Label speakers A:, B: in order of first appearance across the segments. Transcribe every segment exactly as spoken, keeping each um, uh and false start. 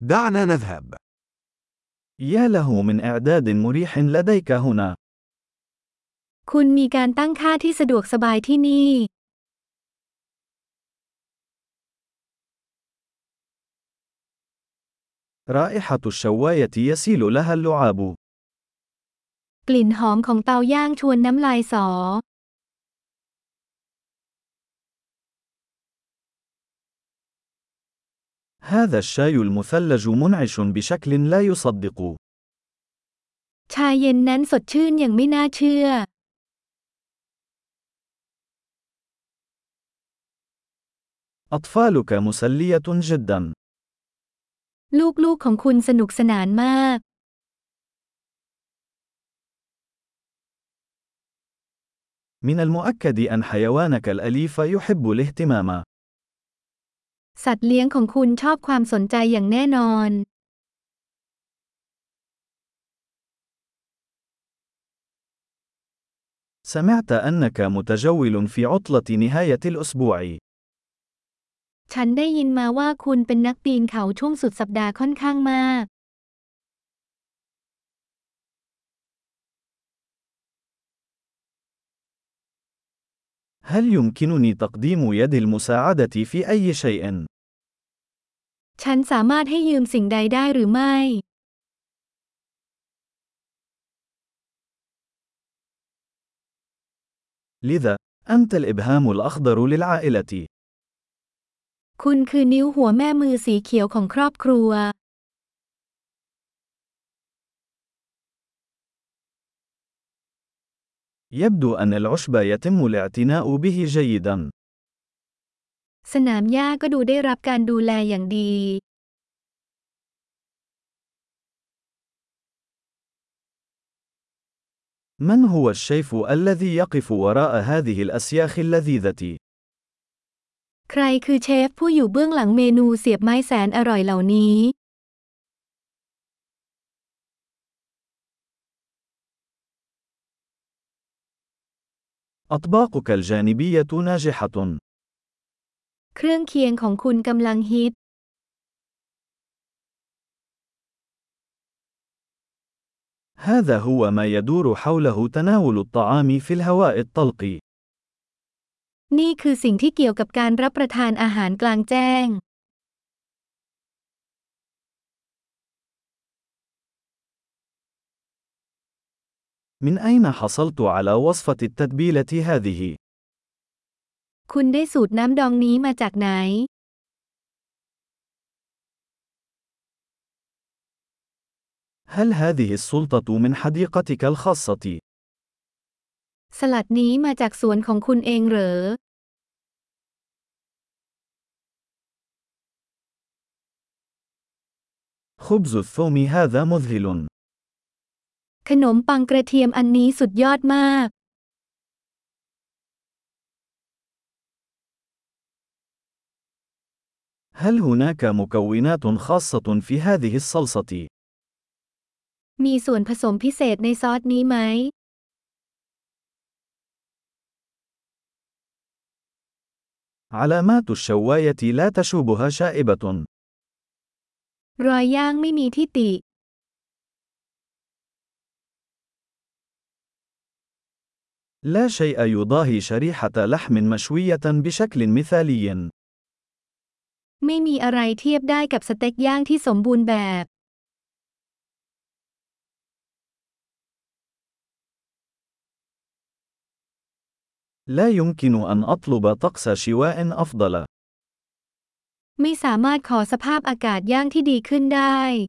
A: دعنا نذهب.
B: يا له من إعداد مريح لديك هنا.
C: คุณมีการตั้งค่าที่สะดวกสบายที่นี่
B: رائحة الشواية يسيل لها اللعاب.
C: กลิ่นหอมของเตาย่างชวนน้ำลายสอ
B: هذا الشاي المثلج منعش بشكل لا يصدق.
C: ชาเย็นนั้นสดชื่นอย่างไม่น่าเชื่อ
B: أطفالك مسلية جدا.
C: ลูกๆของคุณสนุกสนานมาก
B: من المؤكد أن حيوانك الأليف يحب الاهتمام.
C: สัตว์เลี้ยงของคุณชอบความสนใจอย่างแน่นอน
B: سمعت أنك متجول في عطلة نهاية الأسبوع.
C: ฉันได้ยินมาว่าคุณเป็นนักปีนเขาช่วงสุดสัปดาห์ค่อนข้างมาก
B: هل يمكنني تقديم يد المساعدة في أي شيء؟
C: ฉันสามารถให้ยืมสิ่งใดได้หรือไม่
B: لذا، أنت الإبهام الأخضر للعائلة.
C: คุณคือนิ้วหัวแม่มือสีเขียวของครอบครัว
B: يبدو أن العشب يتم الاعتناء به جيدا.
C: สนามหญ้าก็ดูได้รับการดูแลอย่างดี
B: من هو الشيف الذي يقف وراء هذه الأسياخ اللذيذة؟
C: ใครคือเชฟผู้อยู่เบื้องหลังเมนูเสียบไม้แสนอร่อยเหล่านี้
B: أطباقك الجانبية ناجحة.
C: เครื่องเคียงของคุณกำลังฮิต
B: هذا هو ما يدور حوله تناول الطعام في الهواء الطلق.
C: นี่คือสิ่งที่เกี่ยวกับการรับประทานอาหารกลางแจ้ง
B: من أين حصلت على وصفة التتبيلة هذه؟
C: คุณได้สูตรน้ำดองนี้มาจากไหน
B: هل هذه السلطة من حديقتك الخاصة؟
C: สลัดนี้มาจากสวนของคุณเองเหรอ
B: خبز الثوم هذا مذهل.
C: ขนมปังกระเทียมอันนี้สุดยอดมาก
B: هل هناك مكونات خاصة في هذه الصلصة؟
C: มีส่วนผสมพิเศษในซอสนี้ไหม
B: علامات الشواية لا تشوبها شائبة.
C: รอยย่างไม่มีที่ติ
B: لا شيء يضاهي شريحة لحم مشوية بشكل مثالي.
C: ไม่มีอะไรเทียบได้กับสเต็กย่างที่สมบูรณ์แบบ
B: لا يمكن أن أطلب طقس شواء أفضل.
C: ไม่สามารถขอสภาพอากาศย่างที่ดีขึ้นได้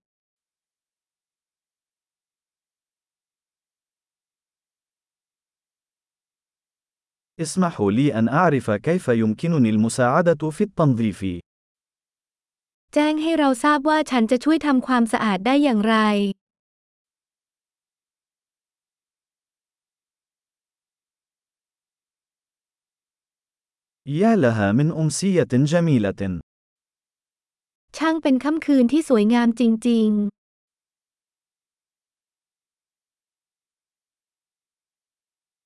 B: اسمحوا لي أن أعرف كيف يمكنني المساعدة في التنظيف.
C: แจ้งให้เราทราบว่าฉันจะช่วยทำความสะอาดได้อย่างไร
B: يا لها من أمسية جميلة.
C: ช่างเป็นค่ำคืนที่สวยงามจริงๆ